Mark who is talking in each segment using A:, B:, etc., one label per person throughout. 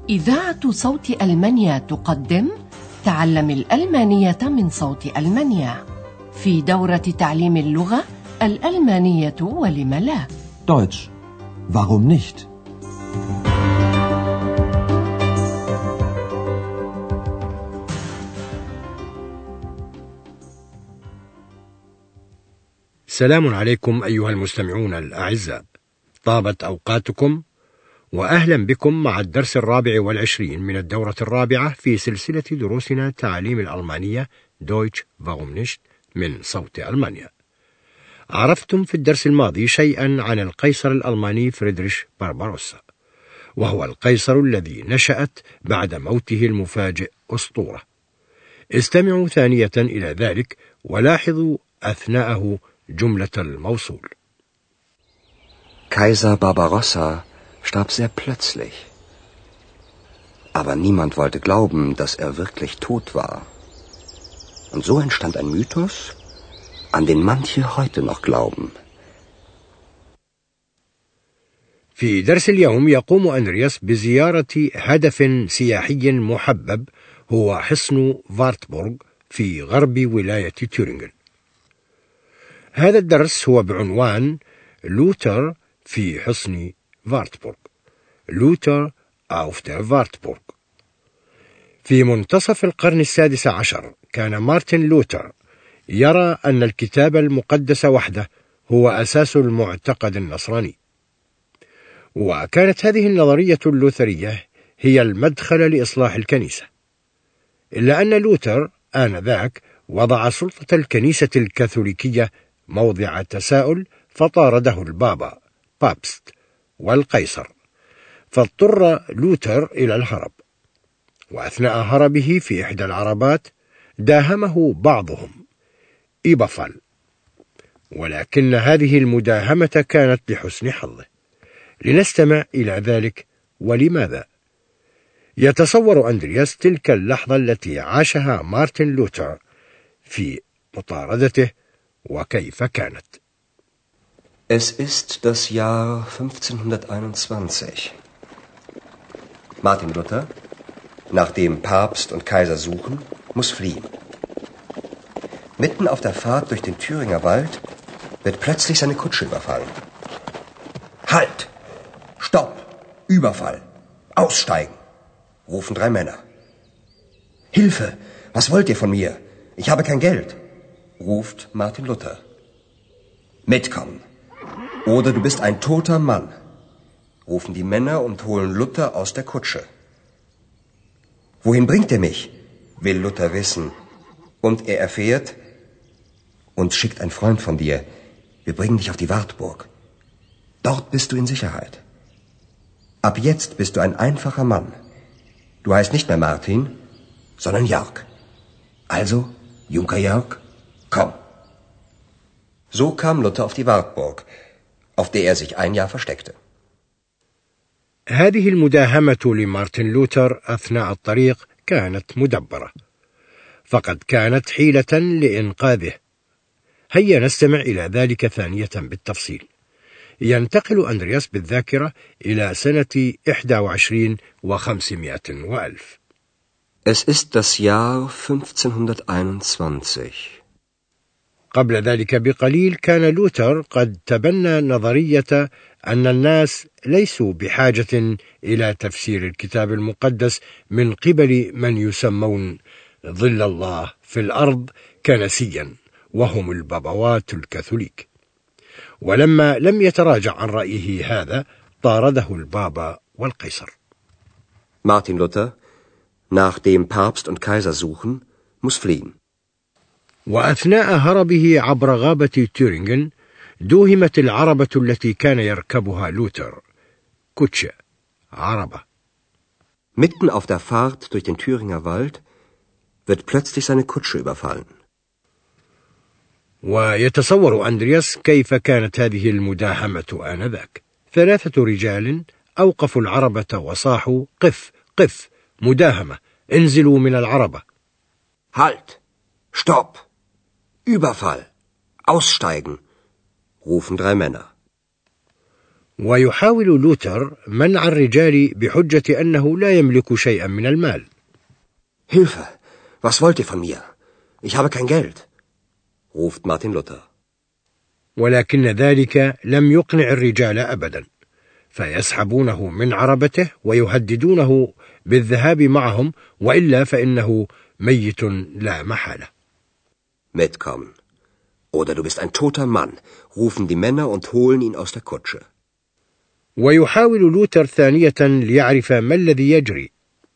A: إذاعة صوت ألمانيا تقدم تعلم الألمانية من صوت ألمانيا في دورة تعليم اللغة الألمانية ولم لا.
B: Deutsch. Warum nicht?
C: سلام عليكم أيها المستمعون الأعزاء، طابت أوقاتكم وأهلا بكم مع الدرس 24 من الدورة الرابعة في سلسلة دروسنا تعليم الألمانية Deutsch warum nicht من صوت ألمانيا. عرفتم في الدرس الماضي شيئا عن القيصر الألماني فريدريش بارباروسا، وهو القيصر الذي نشأت بعد موته المفاجئ أسطورة. استمعوا ثانية إلى ذلك ولاحظوا أثناءه جملة الموصول.
D: Kaiser Barbarossa starb sehr plötzlich. Aber niemand wollte glauben, dass er wirklich tot war. Und so entstand ein Mythos, an den manche heute noch glauben.
C: في درس اليوم يقوم أندرياس بزيارة هدف سياحي محبب هو حصن فارتبورغ في غرب ولاية تورينغن. هذا الدرس هو بعنوان لوتر في حصن فارتبورغ. لوتر auf der Wartburg. في منتصف القرن 16 كان مارتن لوتر يرى أن الكتاب المقدس وحده هو أساس المعتقد النصراني، وكانت هذه النظرية اللوثرية هي المدخل لإصلاح الكنيسة، إلا أن لوتر آنذاك وضع سلطة الكنيسة الكاثوليكية موضع تساؤل، فطارده البابا بابست والقيصر، فاضطر لوتر إلى الهرب. وأثناء هربه في إحدى العربات داهمه بعضهم إيبافال، ولكن هذه المداهمة كانت لحسن حظه. لنستمع إلى ذلك ولماذا. يتصور أندرياس تلك اللحظة التي عاشها مارتن لوتر في مطاردته وكيف كانت.
D: Es ist das Jahr 1521. Martin Luther, nachdem Papst und Kaiser suchen, muss fliehen. Mitten auf der Fahrt durch den Thüringer Wald wird plötzlich seine Kutsche überfallen. Halt! Stopp! Überfall! Aussteigen! Rufen 3 Männer. Hilfe! Was wollt ihr von mir? Ich habe kein Geld, ruft Martin Luther. Mitkommen! Oder du bist ein toter Mann, rufen die Männer und holen Luther aus der Kutsche. Wohin bringt er mich? Will Luther wissen. Und er erfährt, uns schickt ein Freund von dir. Wir bringen dich auf die Wartburg. Dort bist du in Sicherheit. Ab jetzt bist du ein einfacher Mann. Du heißt nicht mehr Martin, sondern Jörg. Also, Junker Jörg, komm. So kam Luther auf die Wartburg, auf der er sich ein Jahr versteckte.
C: هذه المداهمة لمارتن لوتر أثناء الطريق كانت مدبرة، فقد كانت حيلة لإنقاذه. هيا نستمع إلى ذلك ثانية بالتفصيل. ينتقل أندرياس بالذاكرة إلى سنة 21 و500 وألف.
D: Es ist das Jahr 1521.
C: قبل ذلك بقليل كان لوتر قد تبنى نظرية أن الناس ليسوا بحاجة إلى تفسير الكتاب المقدس من قبل من يسمون ظل الله في الأرض كنسيا، وهم البابوات الكاثوليك. ولما لم يتراجع عن رأيه هذا طارده البابا والقيصر.
D: Martin Luther, nachdem Papst und Kaiser suchen, muss fliehen.
C: وأثناء هربه عبر غابة تورينغن دوهمت العربة التي كان يركبها لوتر، كوتشة، عربة.
D: Mitten auf der Fahrt durch den Thüringer Wald wird plötzlich seine Kutsche überfallen.
C: ويتصور أندرياس كيف كانت هذه المداهمة آنذاك. 3 رجال أوقفوا العربة وصاحوا: قف قف، مداهمة، انزلوا من العربة.
D: Halt! Stopp! Überfall! Aussteigen! rufen 3 Männer.
C: ويحاول لوتر منع الرجال بحجة أنه لا يملك شيئا من المال.
D: Hilfe! Was wollt ihr von mir? Ich habe kein Geld, ruft Martin Luther.
C: ولكن ذلك لم يقنع الرجال أبدا، فيسحبونه من عربته ويهددونه بالذهاب معهم، وإلا فإنه ميت لا محالة.
D: Mitkommen. Oder du bist ein toter Mann, rufen die Männer und holen ihn aus der Kutsche.
C: ويحاول لوتر ثانية ليعرف ما الذي يجري.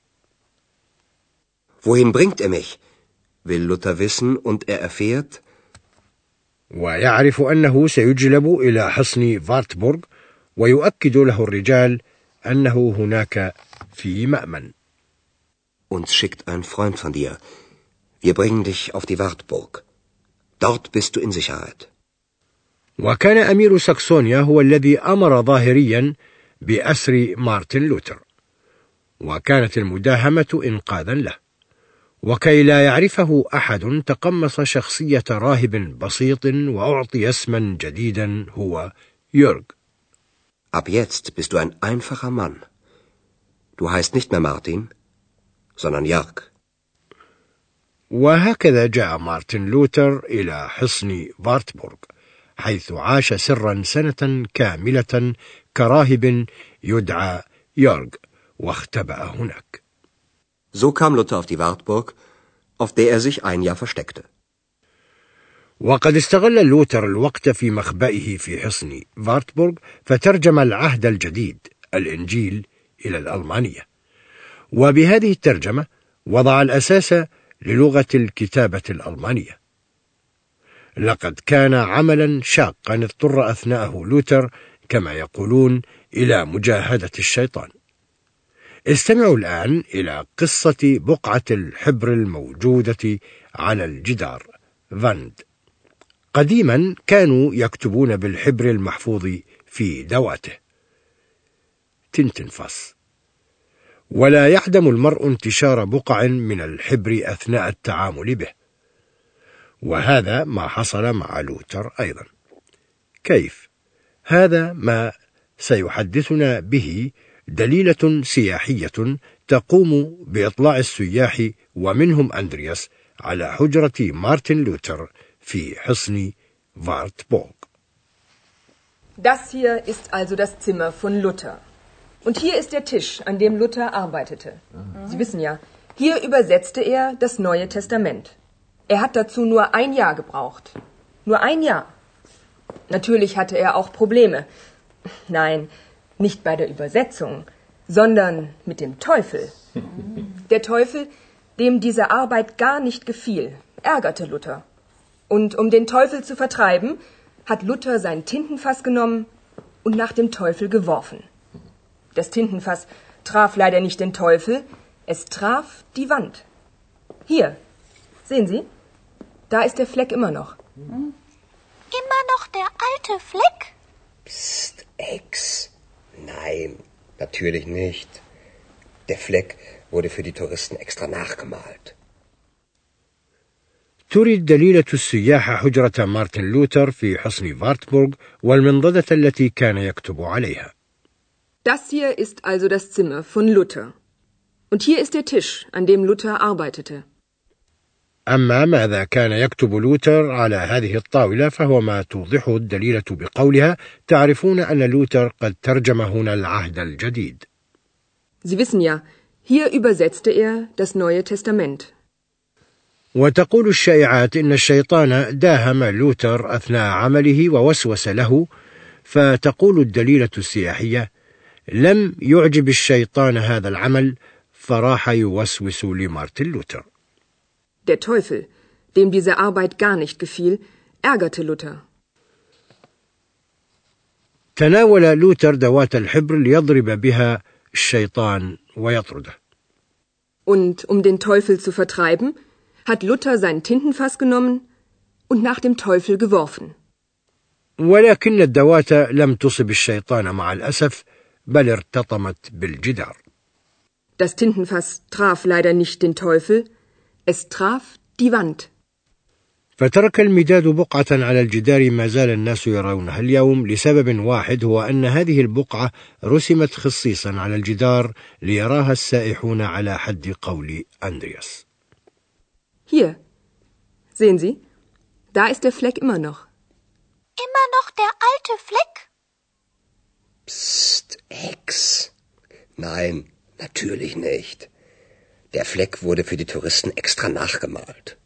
D: Wohin bringt er mich? Will Luther wissen und er erfährt.
C: ويعرف أنه سيجلب إلى حصن فارتبورغ، ويؤكد له الرجال أنه هناك في مأمن.
D: Uns schickt ein Freund von dir. Wir bringen dich auf die Wartburg. Dort bist du in Sicherheit.
C: وكان أمير ساكسونيا هو الذي أمر ظاهريا بأسر مارتن لوتر، وكانت المداهمة إنقاذا له. وكي لا يعرفه أحد تقمص شخصية راهب بسيط وأعطي اسما جديدا هو يورغ.
D: Ab jetzt bist du ein einfacher Mann. Du heißt nicht mehr Martin, sondern Jörg.
C: وهكذا جاء مارتن لوتر إلى حصن فارتبورغ، حيث عاش سرا سنة كاملة كراهب يدعى يورغ، واختبأ هناك.
D: So kam Luther auf die Wartburg, auf der er sich ein Jahr versteckte.
C: وقد استغل لوتر الوقت في مخبئه في حصن فارتبورغ، فترجم العهد الجديد الإنجيل إلى الألمانية، وبهذه الترجمة وضع الأساس للغة الكتابة الألمانية. لقد كان عملا شاقا اضطر أثناءه لوتر كما يقولون إلى مجاهدة الشيطان. استمعوا الآن إلى قصة بقعة الحبر الموجودة على الجدار فاند. قديما كانوا يكتبون بالحبر المحفوظ في دواته تنتنفاس، ولا يعدم المرء انتشار بقع من الحبر أثناء التعامل به، وهذا ما حصل مع لوتر أيضا. كيف؟ هذا ما سيحدثنا به دليلة سياحية تقوم بإطلاع السياح ومنهم أندرياس على حجرة مارتن لوتر في حصن فارتبورغ.
E: Das hier ist also das Zimmer von Luther. Und hier ist der Tisch, an dem Luther arbeitete. Sie wissen ja, hier übersetzte er das Neue Testament. Er hat dazu nur ein Jahr gebraucht. Nur ein Jahr. Natürlich hatte er auch Probleme. Nein, nicht bei der Übersetzung, sondern mit dem Teufel. Der Teufel, dem diese Arbeit gar nicht gefiel, ärgerte Luther. Und um den Teufel zu vertreiben, hat Luther sein Tintenfass genommen und nach dem Teufel geworfen. Das Tintenfass traf leider nicht den Teufel, es traf die Wand. Hier, sehen Sie? Da ist der Fleck immer noch.
F: Immer noch der alte Fleck?
D: Psst, Ex. Nein, natürlich nicht. Der Fleck wurde für die Touristen extra nachgemalt.
C: تريد دليلة السياح حجرة مارتن لوتر في حصن فارتبورغ والمنضدة التي كان يكتب عليها.
E: Das hier ist also das Zimmer von Luther. Und hier ist der Tisch, an dem Luther arbeitete.
C: أما ماذا كان يكتب لوتر على هذه الطاولة فهو ما توضحه الدليلة بقولها: تعرفون أن لوتر قد ترجم هنا العهد الجديد.
E: Sie wissen ja, hier übersetzte er das Neue Testament.
C: وتقول الشائعات إن الشيطان داهم لوتر أثناء عمله ووسوس له، فتقول الدليلة السياحية: لم يعجب الشيطان هذا العمل فراح يوسوس لمارتن لوتر.
E: Der Teufel, dem diese Arbeit gar nicht gefiel, ärgerte Luther.
C: تناول لوتر دوات الحبر ليضرب بها الشيطان ويطرده.
E: Und um den Teufel zu vertreiben, hat Luther sein Tintenfass genommen und nach dem Teufel geworfen.
C: ولكن الدوات لم تصب الشيطان مع الأسف، بل ارتطمت بالجدار.
E: Das Tintenfass traf leider nicht den Teufel, es traf die Wand.
C: فترك المداد بقعة على الجدار ما زال الناس يرونها اليوم لسبب واحد، هو أن هذه البقعة رسمت خصيصا على الجدار ليراها السائحون على حد قول أندرياس.
E: Hier, sehen Sie, da ist der Fleck immer noch.
F: Immer noch der alte Fleck?
D: Psst, Ex. Nein, natürlich nicht. Der Fleck wurde für die Touristen extra nachgemalt.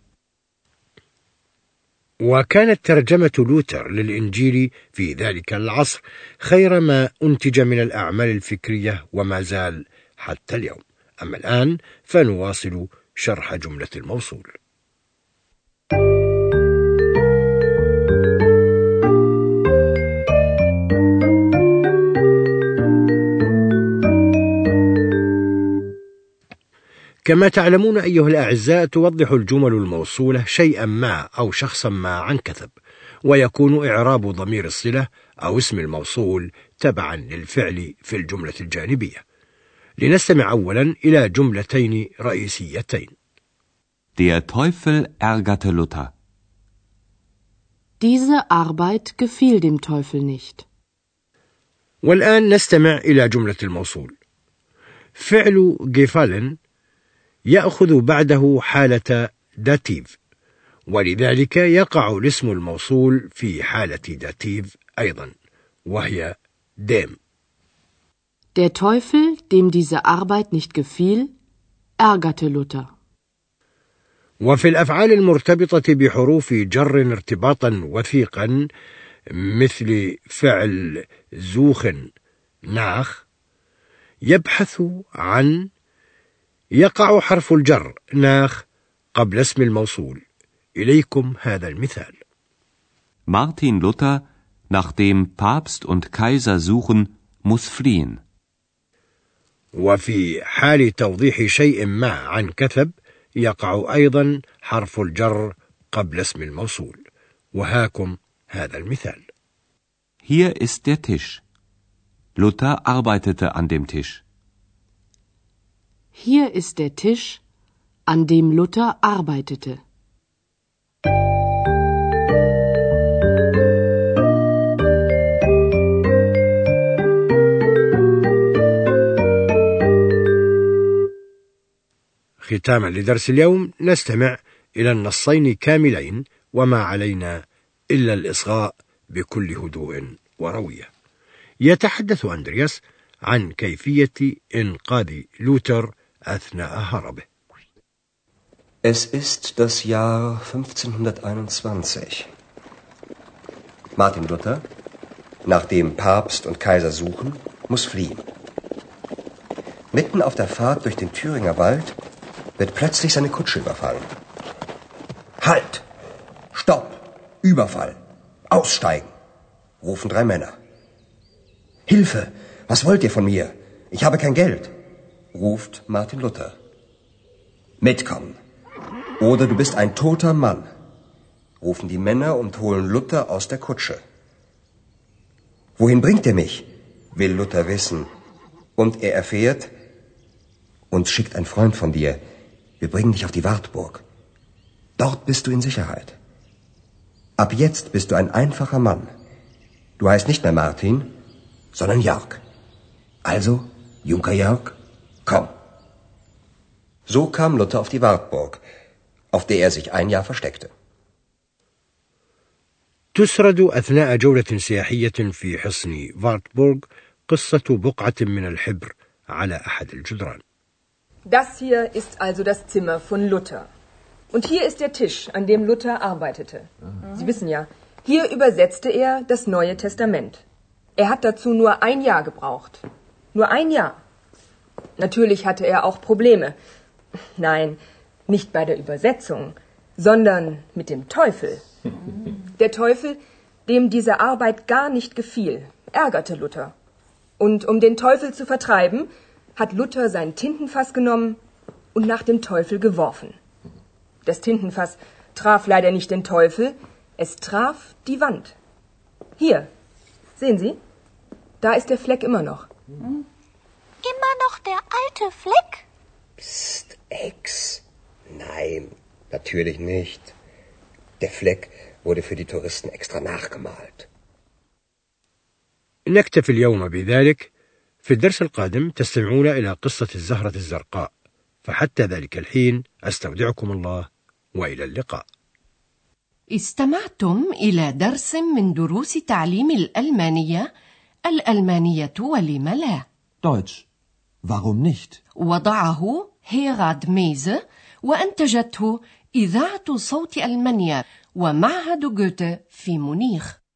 C: وكانت ترجمة لوتر للإنجيل في ذلك العصر خير ما أنتج من الأعمال الفكرية وما زال حتى اليوم. أما الآن فنواصل شرح جملة الموصول. كما تعلمون أيها الأعزاء، توضح الجمل الموصولة شيئا ما أو شخصا ما عن كثب، ويكون إعراب ضمير الصلة أو اسم الموصول تبعا للفعل في الجملة الجانبية. لنستمع أولا إلى جملتين رئيسيتين.
G: Der Teufel ärgerte Luther.
H: Diese Arbeit gefiel dem Teufel nicht.
C: والآن نستمع إلى جملة الموصول. فعل gefallen يأخذ بعده حالة داتيف، ولذلك يقع الاسم الموصول في حالة داتيف أيضا، وهي dem.
H: Der Teufel, dem diese Arbeit nicht gefiel, ärgerte Luther.
C: وفي الأفعال المرتبطة بحروف جر ارتباطا وثيقا مثل فعل زوخن ناخ يبحث عن، يقع حرف الجر ناخ قبل اسم الموصول. إليكم هذا المثال.
G: Martin Luther, nachdem Papst und Kaiser suchen, muss fliehen.
C: وفي حال توضيح شيء ما عن كثب يقع أيضا حرف الجر قبل اسم الموصول، وهاكم هذا المثال.
G: Hier ist der Tisch. Luther arbeitete an dem Tisch.
H: Hier ist der Tisch, an dem Luther arbeitete.
C: ختاما لدرس اليوم نستمع إلى النصين كاملين، وما علينا إلا الإصغاء بكل هدوء وروية. يتحدث أندرياس عن كيفية إنقاذ لوتر أثناء هربه.
D: Es ist das Jahr 1521. Martin Luther, nachdem Papst und Kaiser suchen, muss fliehen. Mitten auf der Fahrt durch den Thüringer Wald wird plötzlich seine Kutsche überfallen. Halt! Stopp! Überfall! Aussteigen! Rufen 3 Männer. Hilfe! Was wollt ihr von mir? Ich habe kein Geld, ruft Martin Luther. Mitkommen! Oder du bist ein toter Mann, rufen die Männer und holen Luther aus der Kutsche. Wohin bringt ihr mich? Will Luther wissen. Und er erfährt, uns schickt ein Freund von dir. Wir bringen dich auf die Wartburg. Dort bist du in Sicherheit. Ab jetzt bist du ein einfacher Mann. Du heißt nicht mehr Martin, sondern Jörg. Also, Junker Jörg, komm. So kam Luther auf die Wartburg, auf der er sich ein Jahr versteckte.
C: تسرد أثناء جولة سياحية في حصن وارتبورغ قصة بقعة من الحبر على أحد الجدران.
E: Das hier ist also das Zimmer von Luther. Und hier ist der Tisch, an dem Luther arbeitete. Sie wissen ja, hier übersetzte er das Neue Testament. Er hat dazu nur ein Jahr gebraucht. Nur ein Jahr. Natürlich hatte er auch Probleme. Nein, nicht bei der Übersetzung, sondern mit dem Teufel. Der Teufel, dem diese Arbeit gar nicht gefiel, ärgerte Luther. Und um den Teufel zu vertreiben, hat Luther sein Tintenfass genommen und nach dem Teufel geworfen. Das Tintenfass traf leider nicht den Teufel, es traf die Wand. Hier, sehen Sie, da ist der Fleck immer noch.
F: Immer noch der alte Fleck?
D: Psst, Ex. Nein, natürlich nicht. Der Fleck wurde für die Touristen extra nachgemalt.
C: نكتفي اليوم بذلك. في الدرس القادم تستمعون إلى قصة الزهرة الزرقاء، فحتى ذلك الحين أستودعكم الله وإلى اللقاء.
A: استمعتم إلى درس من دروس تعليم الألمانية ولم لا.
B: Deutsch. Warum nicht?
A: وضعه هيراد ميزه وأنتجته إذاعة صوت ألمانيا ومعهد جوته في مونيخ.